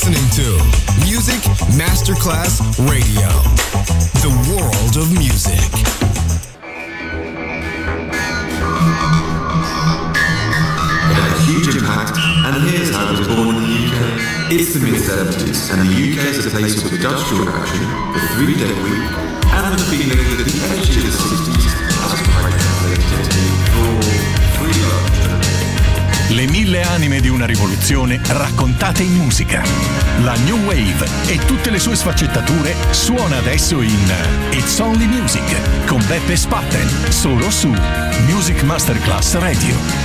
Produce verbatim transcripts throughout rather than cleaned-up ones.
listening to Music Masterclass Radio, the world of music. It had a huge impact, and here's how it was born in the U K. It's the mid seventies, and the U K is a place with the Dutch tour action, the three-day week, and the feeling that the energy of the sixties has quite translated into raw, free love. Le mille anime di una rivoluzione raccontate in musica. La New Wave e tutte le sue sfaccettature suona adesso in It's Only Music con Beppe Spatten, solo su Music Masterclass Radio.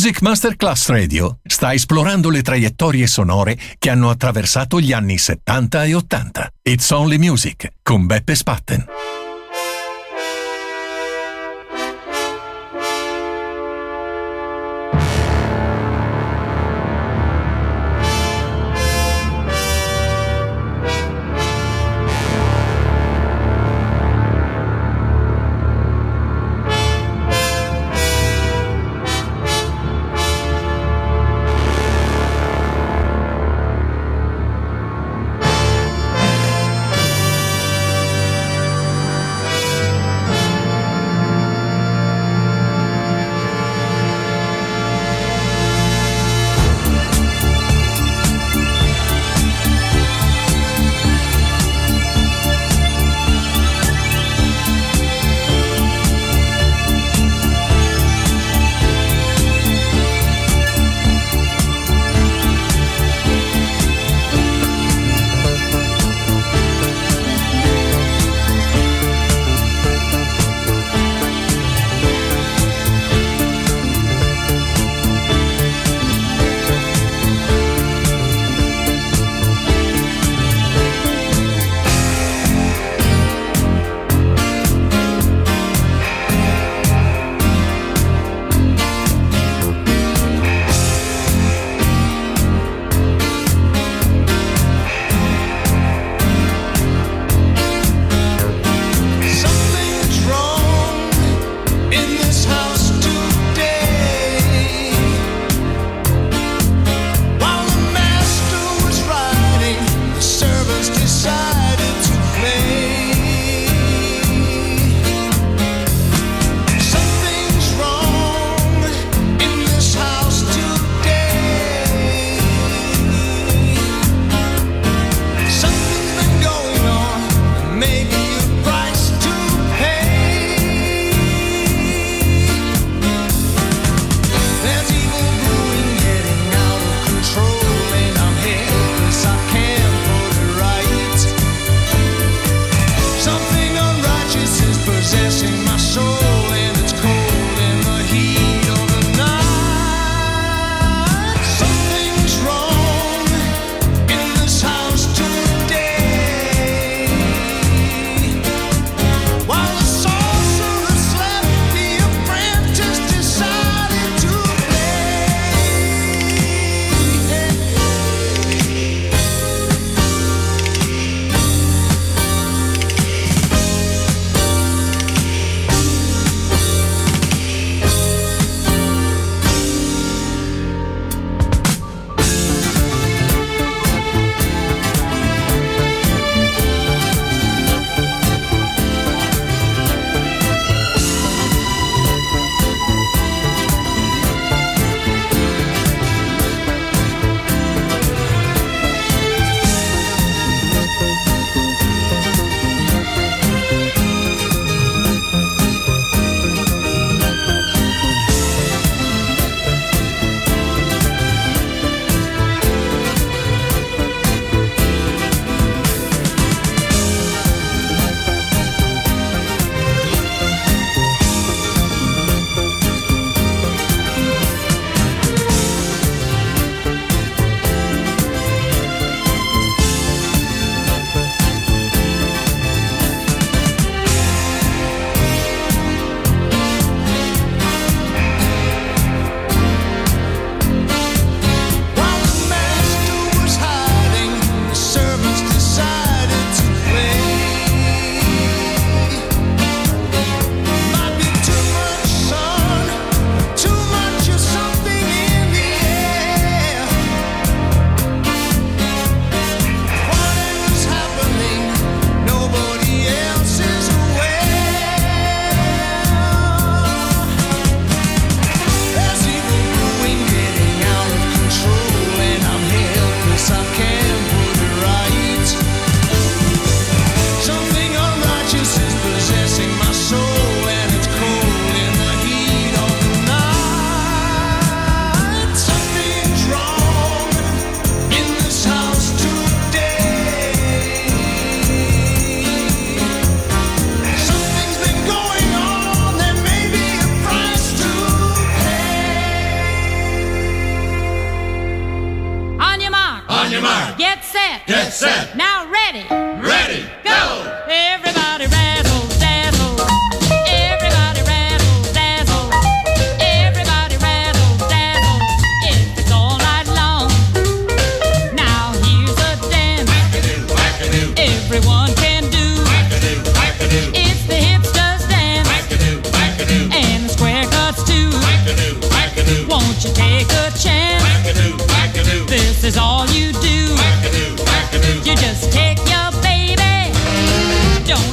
Music Masterclass Radio sta esplorando le traiettorie sonore che hanno attraversato gli anni settanta e ottanta. It's Only Music con Beppe Spatten.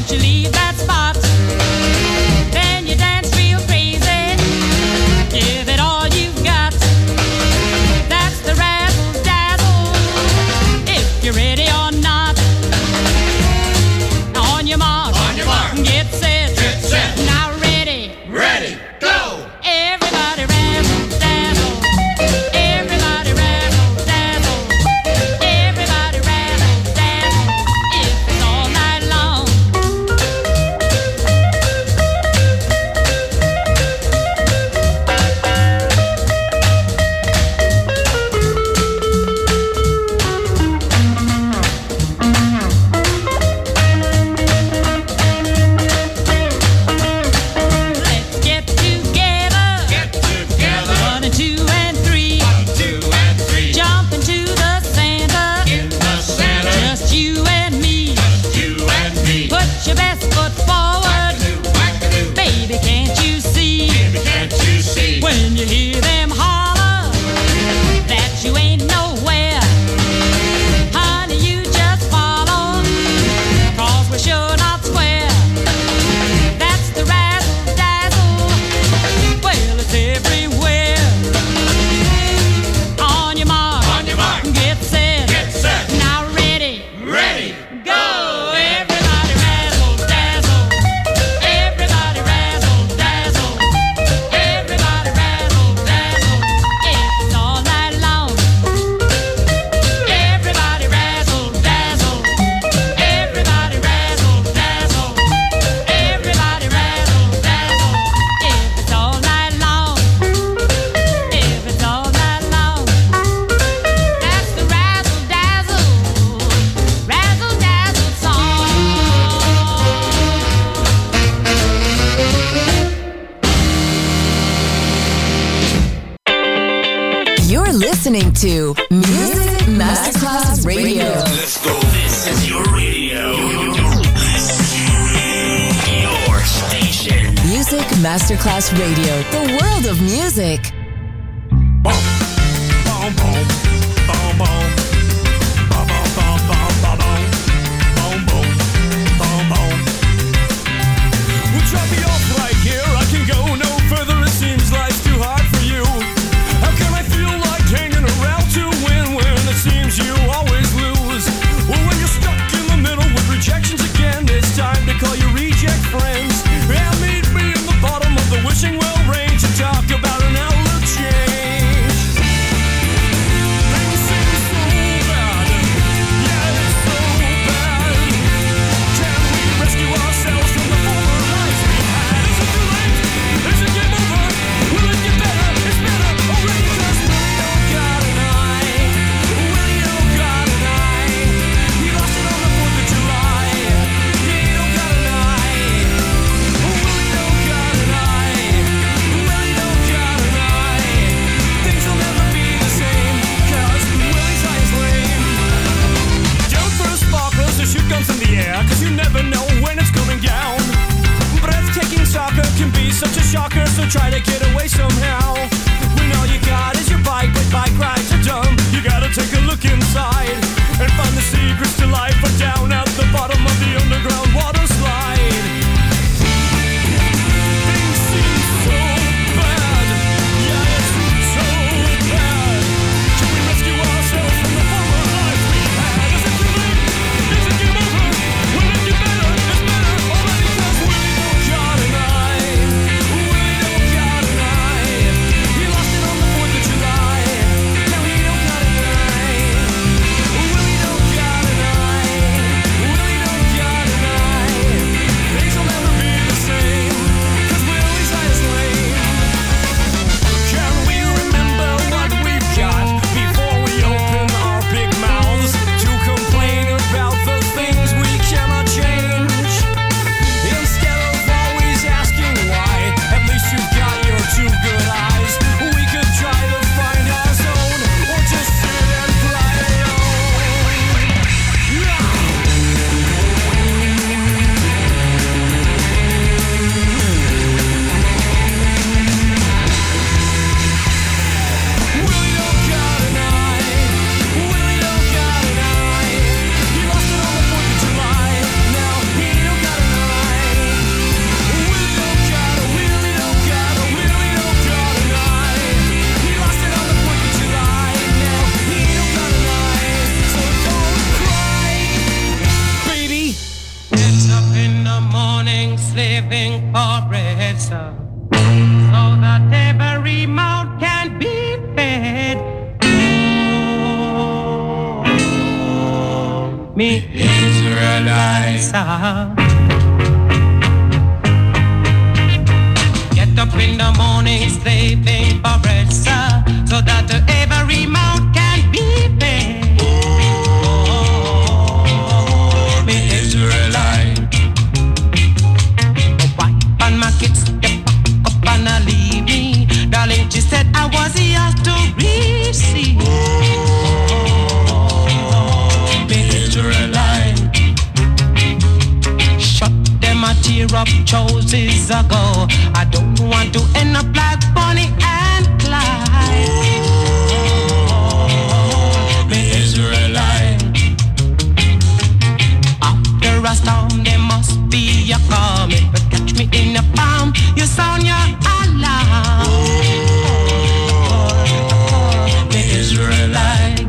listening to Music Masterclass Radio. Let's go. This is your radio. Your station. Music Masterclass Radio. The world of music. Boom, boom, boom, boom, boom. Boom, boom, boom, boom, boom, boom, boom, boom, boom. We'll drop me off right here. I can go no further. It seems life's too hard for you. How can I feel like hanging around to win when it seems you always lose? Well, when you're stuck in the middle with rejections again, it's time to call your reject friends. And meet me in the bottom of the wishing well range and talk about an outlook change. Things seem so bad. Yeah, it's so bad. Can we rescue ourselves from the former lives we had? Is it too late? Is it game over? Will it get better? It's better already. Cause Willie O got an eye. Willie O got an eye. He lost it on the fourth of July. Willie O got an eye. Willie O got an eye. Willie O got an eye. Things will never be the same. Cause Willie's eye is lame. Don't throw sparklers or shoot guns in the air. Cause you never know when it's coming down. Breathtaking soccer can be such a shocker. So try to get away somehow. When all you got is your bike, but bike rides are dumb. You gotta take a look inside and find the secrets to life are down at the bottom of the underground water slide. Things seem so bad. Yeah, it's so bad. Can we rescue ourselves from the former lives we had? Is it too late? Is it game over? Will it get better? It's better already. Cause Willie O got an eye. Willie O got an eye. so that every mouth can be fed. Oh, me Israelites. Get up in the morning, slaving for bread, sir, so that every mouth can be fed. Oh, me Israelite. Wife and my kids, they pack up and I leave me. Darling, she said I was yours to receive. Oh, me Israelite. Shut them a tear up choices ago. I don't want to end up like Bonnie and Clyde. Oh, me Israelite. After a storm, there must be a calm. If you catch me in the palm, you sound your alarm. Oh, me Israelite.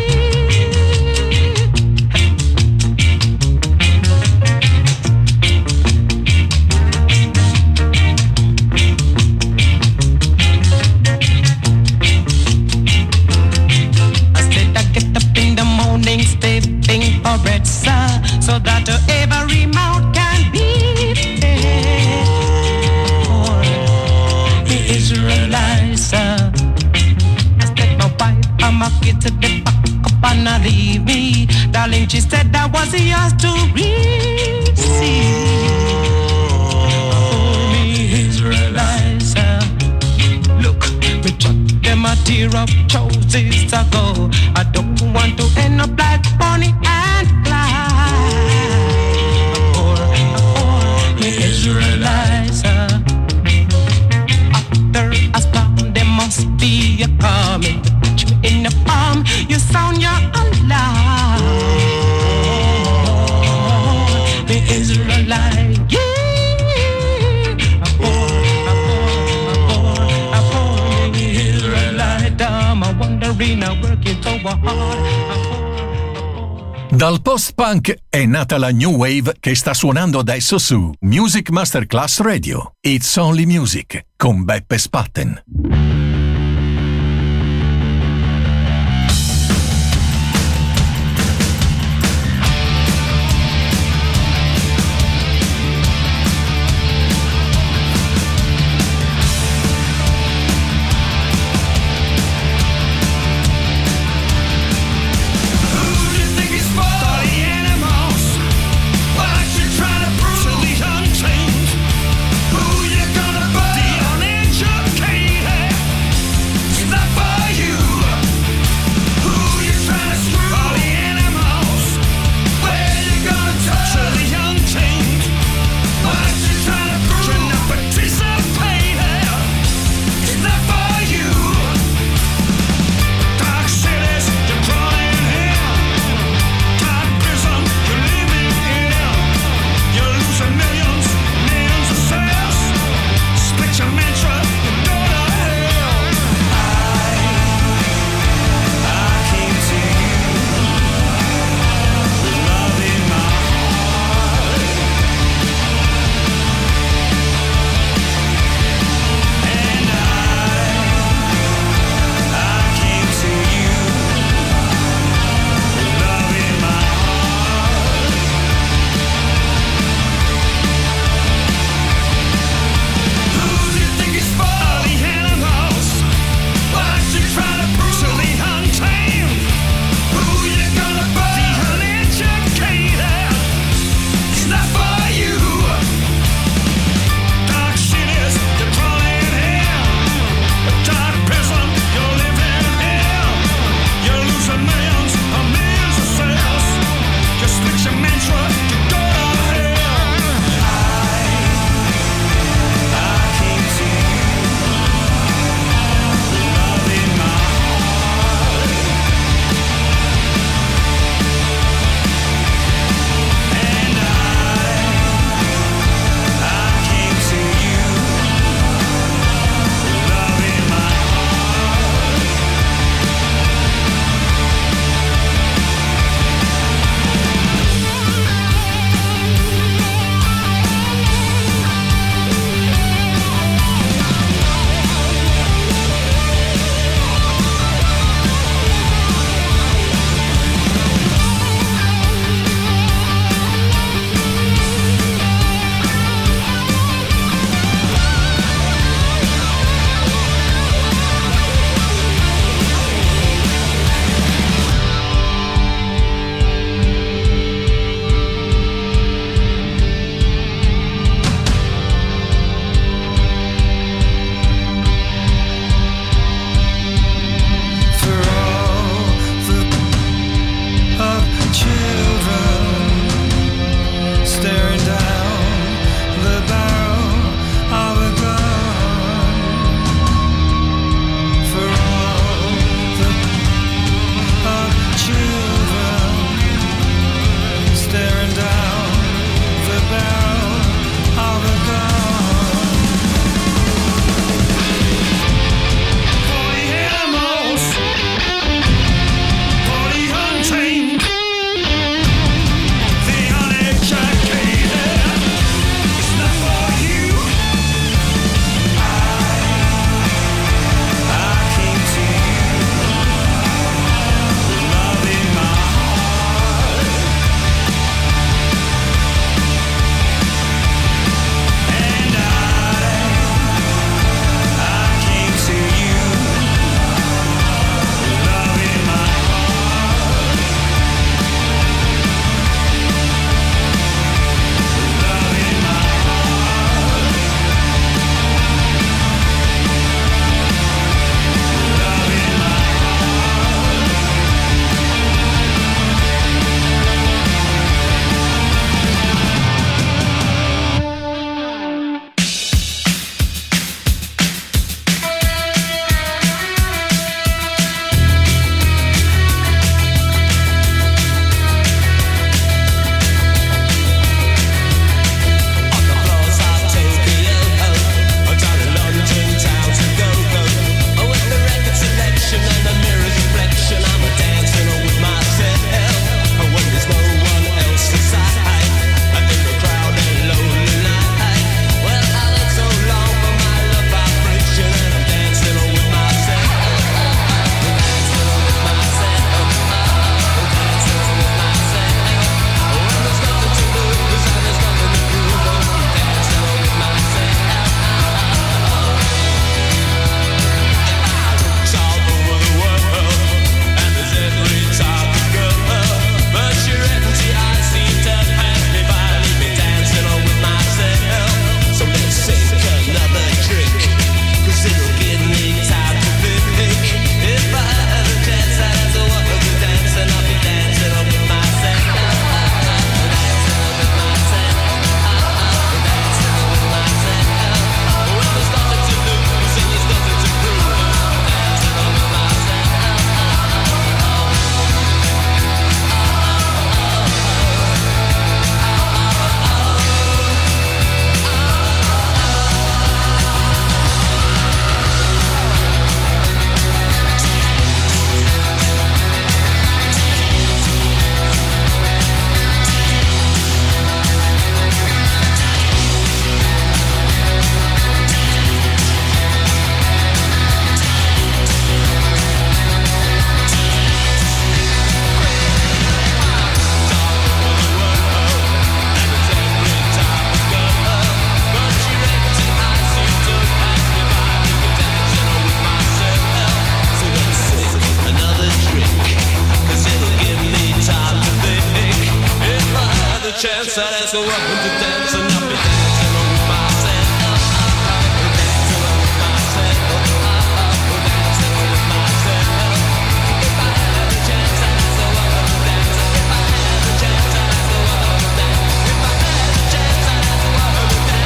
Stepping for bread, sir, so that every mouth can be fed. Oh, the Israelites, sir. I said my wife and my kids at the back up and I leave me. Darling, she said that was yours to receive. Oh, the Israelites, sir. Look, me chuck them a tear up choices ago. I don't want to end up like Bonnie and Clyde. Or, or the Israelites. After a storm, there must be a calm. If you catch me in the palm, you sound your alarm. Oh, the Israelites. Yeah. Dal post-punk è nata la new wave che sta suonando adesso su Music Masterclass Radio. It's Only Music con Beppe Spatten. Who you gonna put? The uneducated. so I want to dance and I'll be dancing with myself. Dancing with myself. Dancing with myself. If I had a chance, I'd so I want to dance. If I had a chance, I'd so I want to dance. If I had a chance, I'd so I want to dance.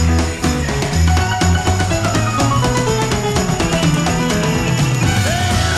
Hey!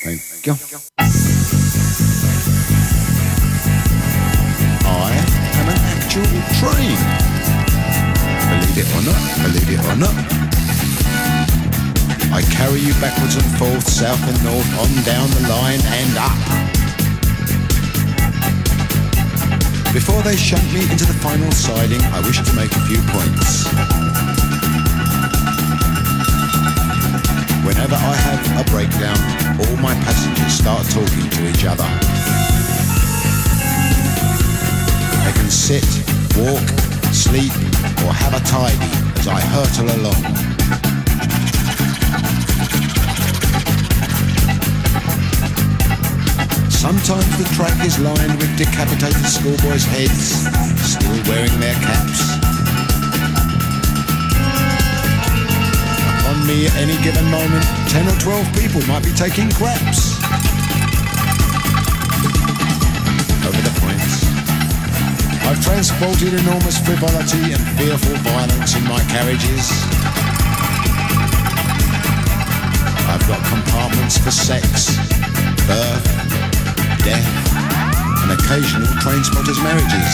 Thank you. I am an actual train. Believe it or not, believe it or not. I carry you backwards and forth, south and north, on down the line and up. Before they shunt me into the final siding, I wish to make a few points. Whenever I have a breakdown, all my passengers start talking to each other. They can sit, walk, sleep, or have a tidy as I hurtle along. Sometimes the track is lined with decapitated schoolboys' heads, still wearing their caps. Upon me at any given moment, ten or twelve people might be taking craps. Over the points. I've transported enormous frivolity and fearful violence in my carriages. I've got compartments for sex, birth, death, and occasional train spotters' marriages.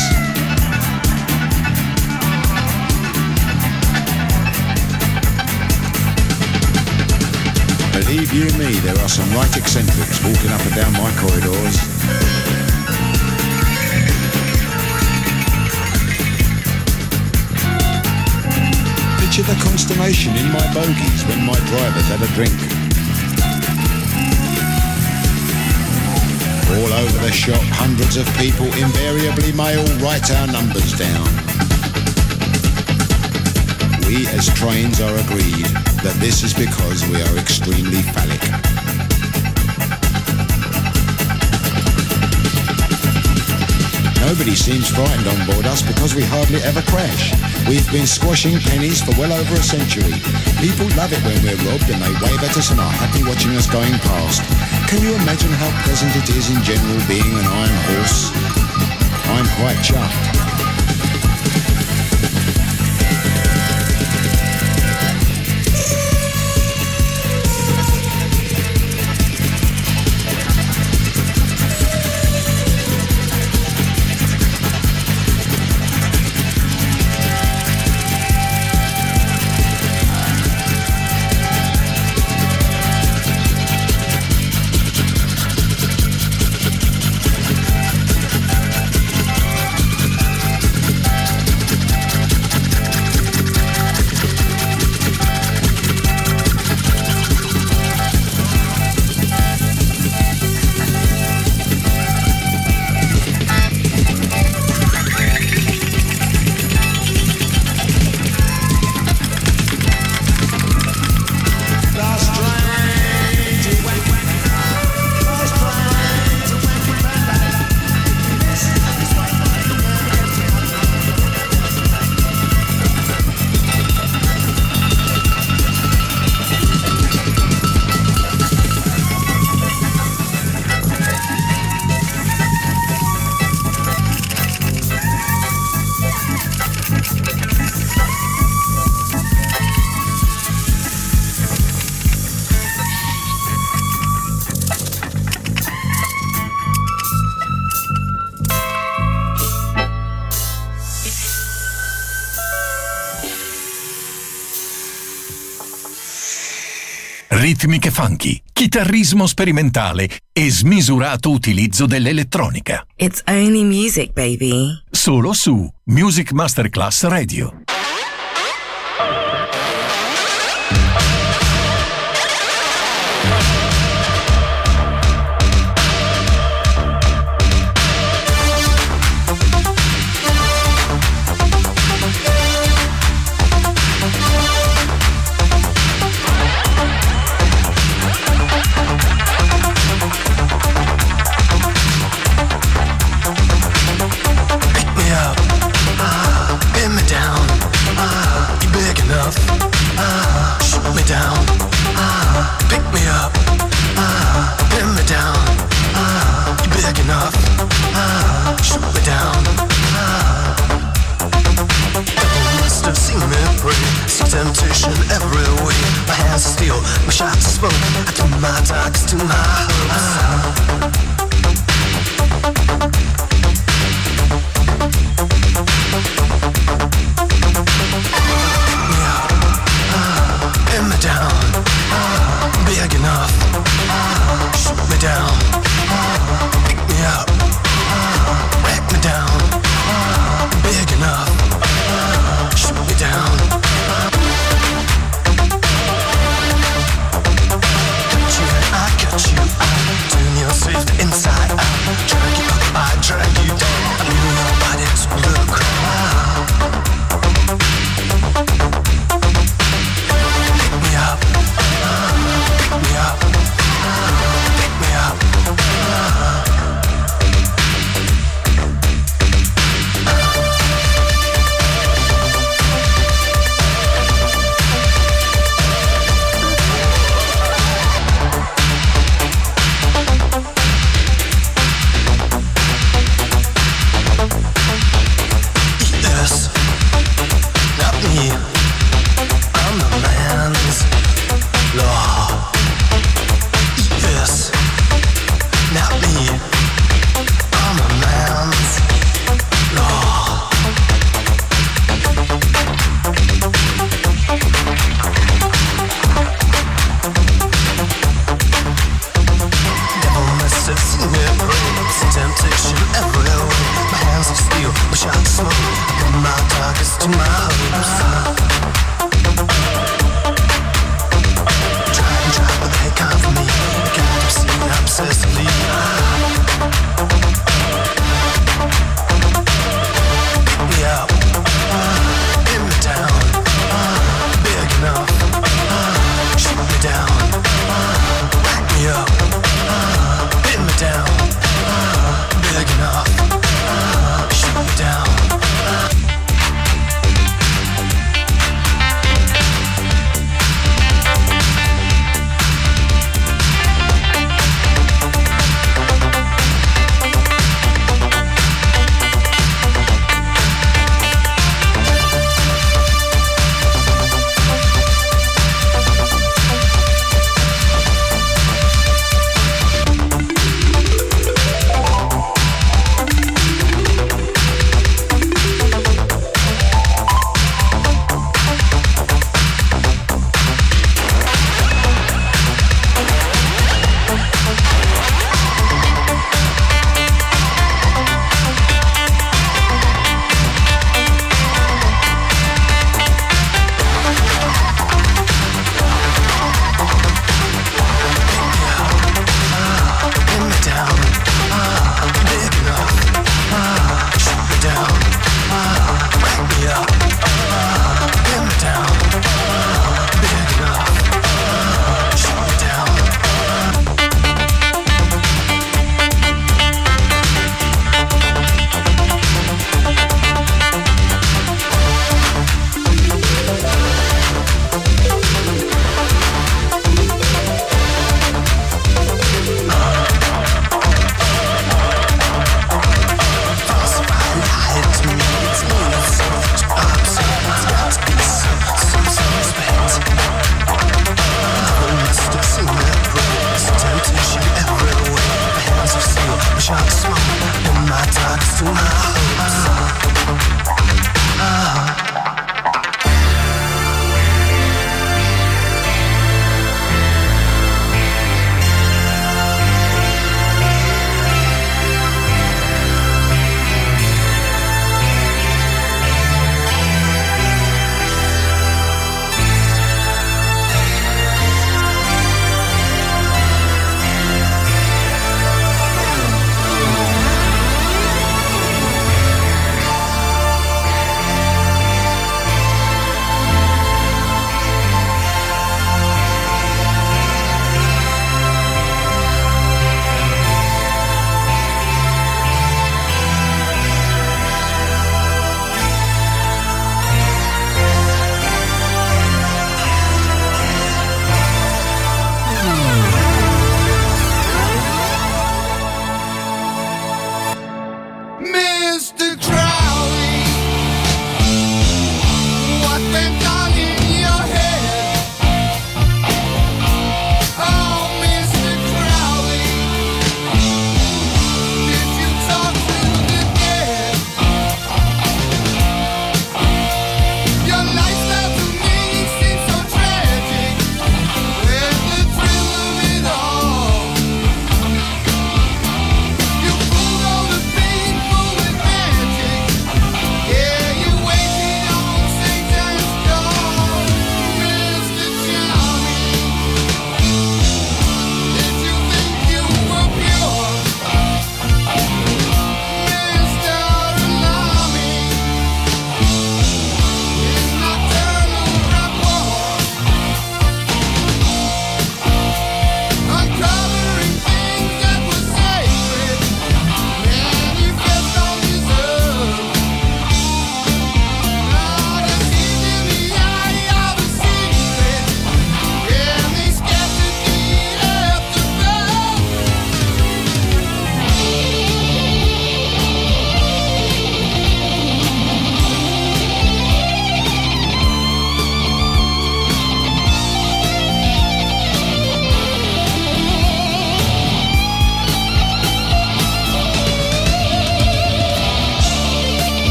Believe you me, there are some right eccentrics walking up and down my corridors. Picture the consternation in my bogies when my drivers have a drink. All over the shop, hundreds of people invariably may all write our numbers down. We as trains are agreed that this is because we are extremely phallic. Nobody seems frightened on board us because we hardly ever crash. We've been squashing pennies for well over a century. People love it when we're robbed and they wave at us and are happy watching us going past. Can you imagine how pleasant it is in general being an iron horse? I'm quite chuffed. Ritmiche funky, chitarrismo sperimentale e smisurato utilizzo dell'elettronica. It's only music, baby. Solo su Music Masterclass Radio. Temptation every way. My hands are steel, my shots are smoke. I do my talks to my heart. enough. Shoot me down. Pick me up. Whack me down. Big enough. Shoot me down. Cut you and I cut you. I turn your safe inside. I drag you up, I drag you down. I knew nobody to look. Pick me up. Pick me up. Pick me up.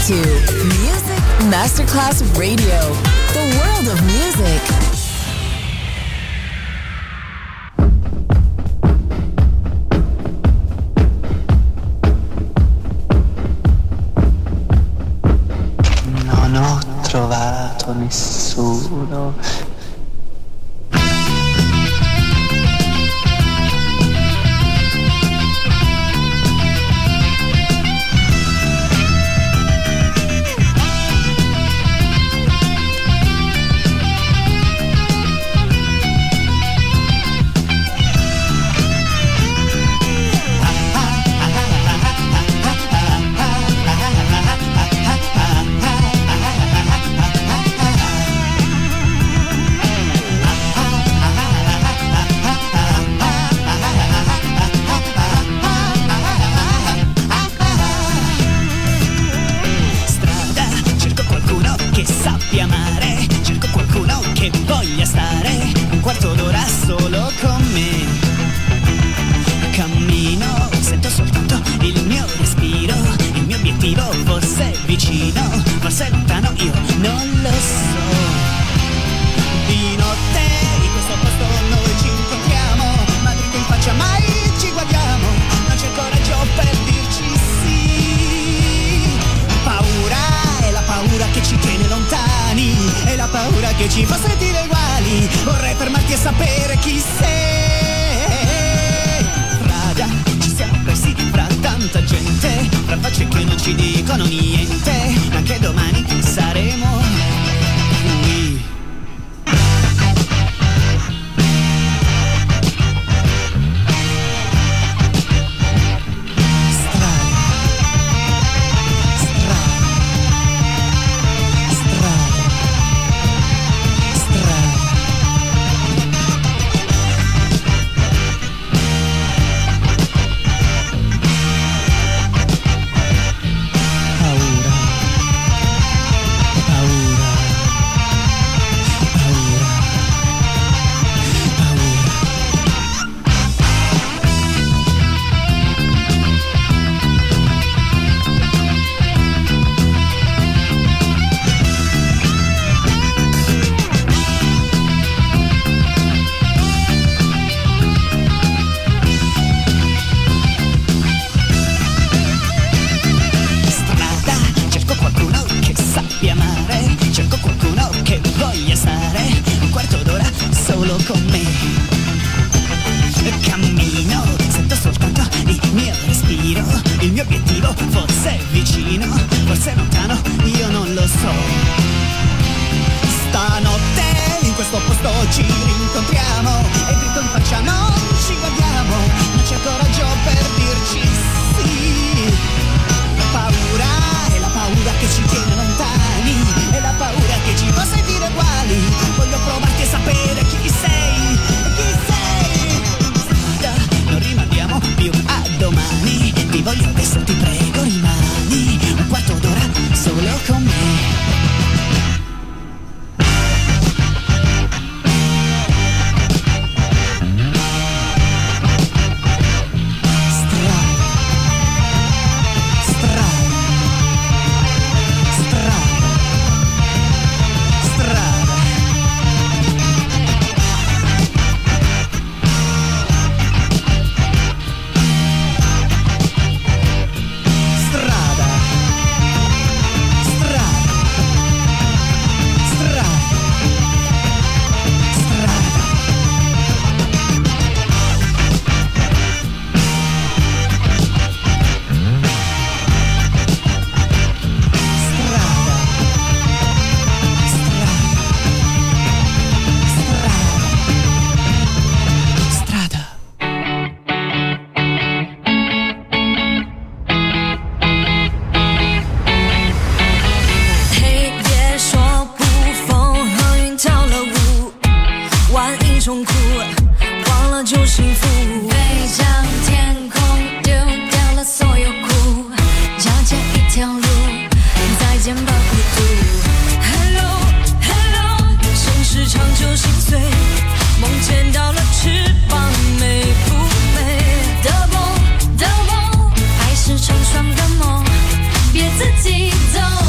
to Music Masterclass Radio, the world of music. Non ho trovato nessuno. Hello Hello， 现实长久心碎，梦见到了翅膀，美不美？的梦的梦，爱是成双的梦，别自己走。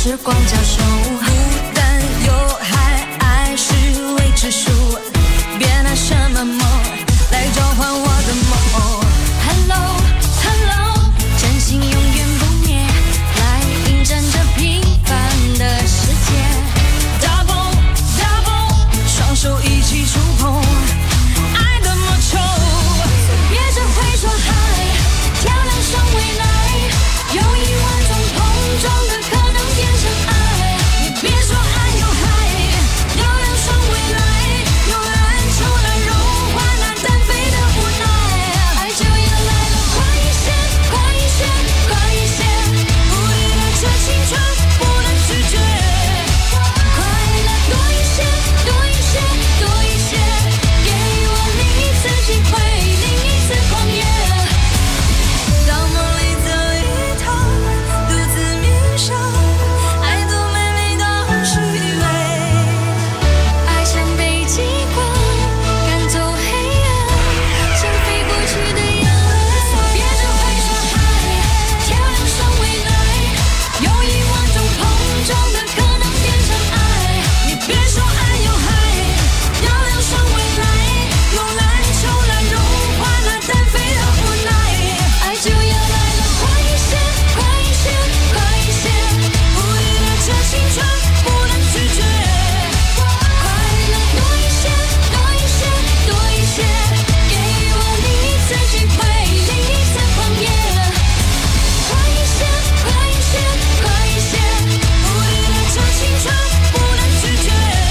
时光交手，孤单有害，爱是未知数，别拿什么梦来交换我的梦。 Hello Hello， 真心永远不灭，来迎战这平凡的世界。 Double Double， 双手一起触碰爱的魔球，别只会说嗨，跳亮上未来，有一万种碰撞的可能变成爱。你别说爱有害，要亮上未来，用篮球来融化那单飞的无奈。爱就要来了，快一些，快一些，快一些，无力的这青春不能拒绝。快乐多一些，多一些，多一些，给我另一次机会，另一次狂野。到梦里走一趟，独自迷上，爱多美丽到虚伪。爱像被激光赶走黑暗，像飞过去的眼泪。别只会说嗨，跳亮上未来，有一万种碰撞的可能变成爱。你别说爱有害，要亮上未来，用篮球来融化那单飞的无奈。爱就要来了，快一些，快一些，快一些，无力的这青春不能拒绝。快乐多一些，多一些，多一些，给我另一次机会，另一次狂野。快一些，快一些，快一些，无力的这青春不能拒绝。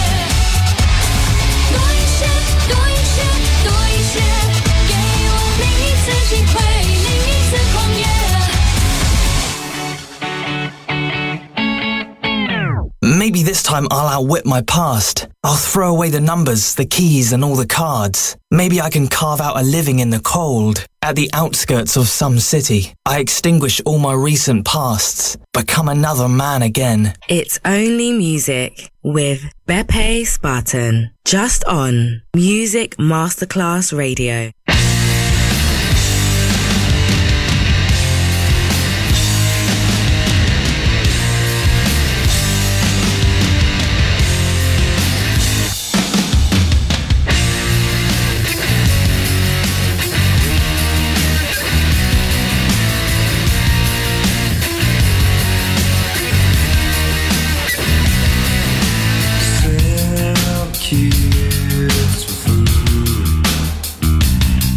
多一些，多一些，多一些，给我另一次机会，另一次狂野。 Maybe this time I'll outwit my past. I'll throw away the numbers, the keys, and all the cards. Maybe I can carve out a living in the cold. At the outskirts of some city, I extinguish all my recent pasts, become another man again. It's Only Music with Beppe Spartan. Just on Music Masterclass Radio. Kids for food.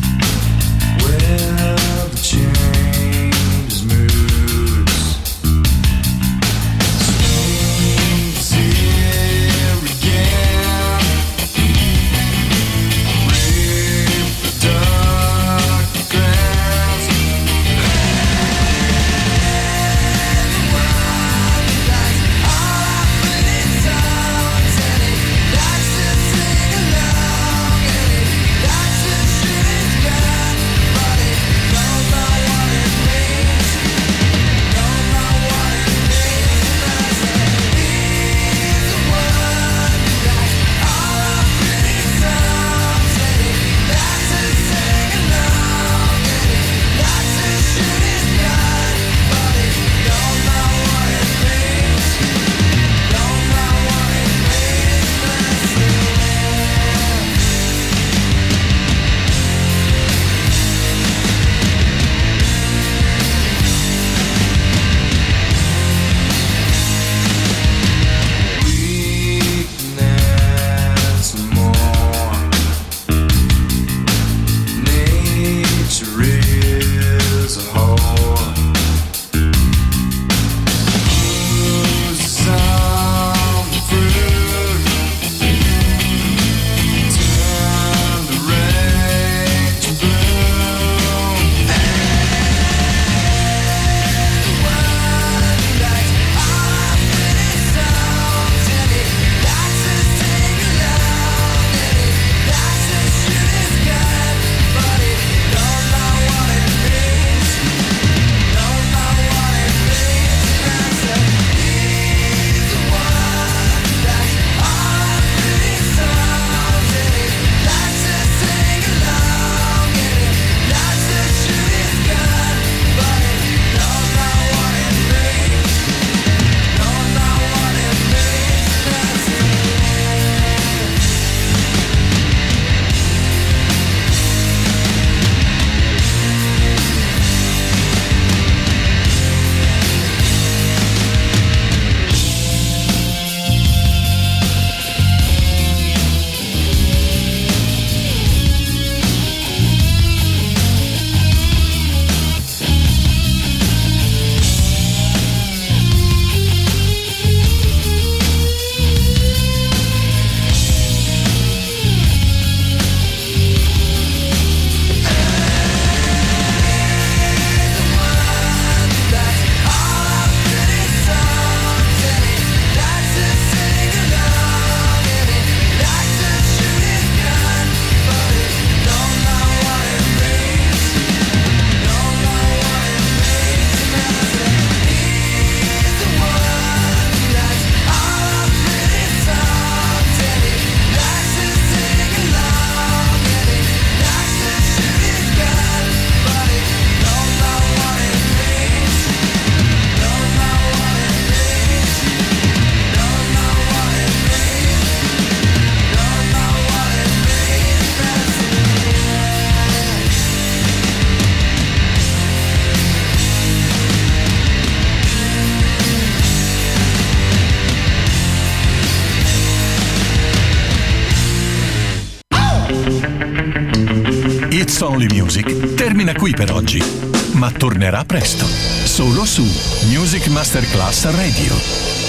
Only Music termina qui per oggi, ma tornerà presto, solo su Music Masterclass Radio.